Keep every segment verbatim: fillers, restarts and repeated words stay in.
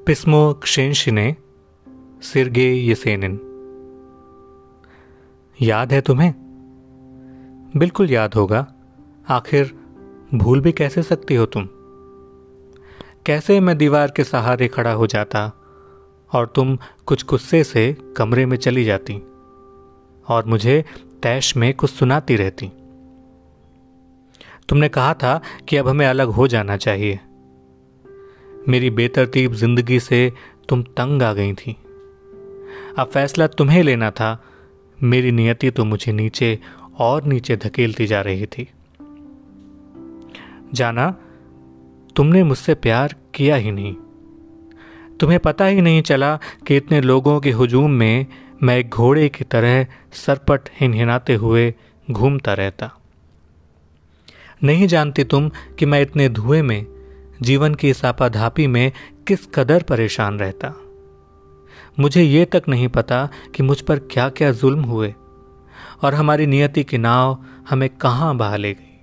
Pismo क्षेंशिने सिर्गे येसेनिन। याद है तुम्हें? बिल्कुल याद होगा, आखिर भूल भी कैसे सकती हो तुम। कैसे मैं दीवार के सहारे खड़ा हो जाता और तुम कुछ गुस्से से कमरे में चली जाती और मुझे तैश में कुछ सुनाती रहती। तुमने कहा था कि अब हमें अलग हो जाना चाहिए। मेरी बेतरतीब जिंदगी से तुम तंग आ गई थी। अब फैसला तुम्हें लेना था। मेरी नियति तो मुझे नीचे और नीचे धकेलती जा रही थी। जाना, तुमने मुझसे प्यार किया ही नहीं। तुम्हें पता ही नहीं चला कि इतने लोगों के हुजूम में मैं एक घोड़े की तरह सरपट हिनहिनाते हुए घूमता रहता। नहीं जानती तुम कि मैं इतने धुएं में, जीवन की इस आपाधापी में किस कदर परेशान रहता। मुझे ये तक नहीं पता कि मुझ पर क्या क्या जुल्म हुए और हमारी नियति की नाव हमें कहां बहा ले गई।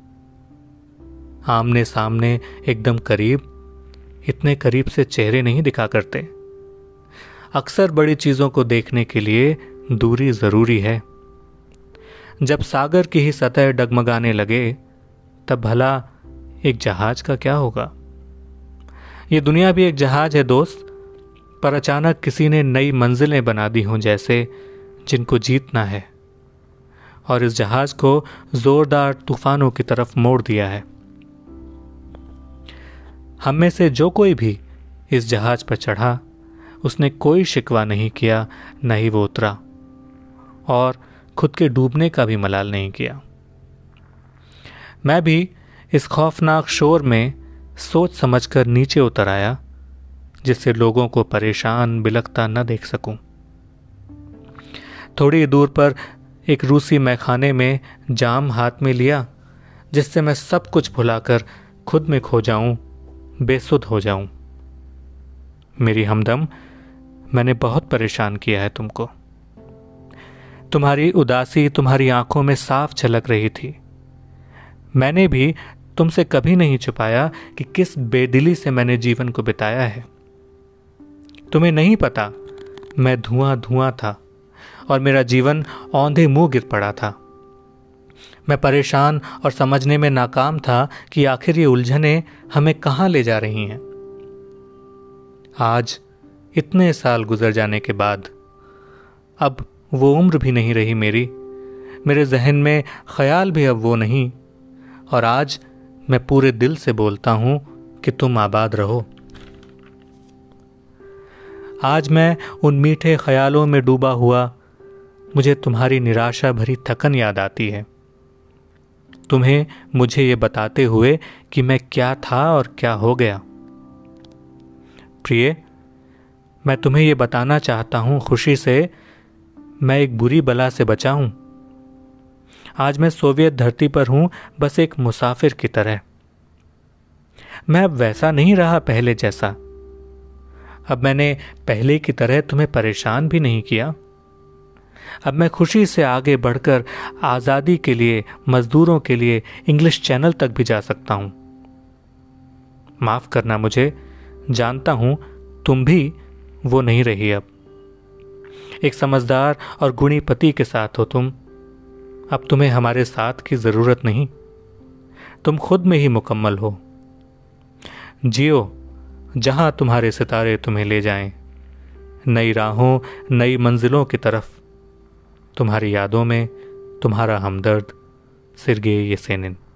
आमने सामने एकदम करीब, इतने करीब से चेहरे नहीं दिखा करते। अक्सर बड़ी चीजों को देखने के लिए दूरी जरूरी है। जब सागर की ही सतह डगमगाने लगे तब भला एक जहाज का क्या होगा। ये दुनिया भी एक जहाज है दोस्त, पर अचानक किसी ने नई मंजिलें बना दी हों जैसे, जिनको जीतना है, और इस जहाज को जोरदार तूफानों की तरफ मोड़ दिया है। हम में से जो कोई भी इस जहाज पर चढ़ा, उसने कोई शिकवा नहीं किया, न ही वो उतरा, और खुद के डूबने का भी मलाल नहीं किया। मैं भी इस खौफनाक शोर में सोच समझकर नीचे उतर आया, जिससे लोगों को परेशान बिलखता न देख सकूं। थोड़ी दूर पर एक रूसी मैखाने में जाम हाथ में लिया, जिससे मैं सब कुछ भुलाकर खुद में खो जाऊं, बेसुध हो जाऊं। मेरी हमदम, मैंने बहुत परेशान किया है तुमको। तुम्हारी उदासी तुम्हारी आंखों में साफ झलक रही थी। मैंने भी तुमसे कभी नहीं छुपाया कि किस बेदिली से मैंने जीवन को बिताया है। तुम्हें नहीं पता, मैं धुआं धुआं था और मेरा जीवन औंधे मुंह गिर पड़ा था। मैं परेशान और समझने में नाकाम था कि आखिर ये उलझनें हमें कहां ले जा रही हैं। आज इतने साल गुजर जाने के बाद अब वो उम्र भी नहीं रही मेरी, मेरे जहन में ख्याल भी अब वो नहीं, और आज मैं पूरे दिल से बोलता हूं कि तुम आबाद रहो। आज मैं उन मीठे ख्यालों में डूबा हुआ, मुझे तुम्हारी निराशा भरी थकन याद आती है। तुम्हें मुझे ये बताते हुए कि मैं क्या था और क्या हो गया। प्रिय, मैं तुम्हें ये बताना चाहता हूं खुशी से, मैं एक बुरी बला से बचा हूं। आज मैं सोवियत धरती पर हूं, बस एक मुसाफिर की तरह। मैं अब वैसा नहीं रहा पहले जैसा। अब मैंने पहले की तरह तुम्हें परेशान भी नहीं किया। अब मैं खुशी से आगे बढ़कर आजादी के लिए, मजदूरों के लिए इंग्लिश चैनल तक भी जा सकता हूं। माफ करना मुझे, जानता हूं तुम भी वो नहीं रही अब। एक समझदार और गुणी पति के साथ हो तुम। अब तुम्हें हमारे साथ की जरूरत नहीं। तुम खुद में ही मुकम्मल हो। जियो जहां तुम्हारे सितारे तुम्हें ले जाएं, नई राहों, नई मंजिलों की तरफ। तुम्हारी यादों में तुम्हारा हमदर्द, सिर्गे येसेनिन।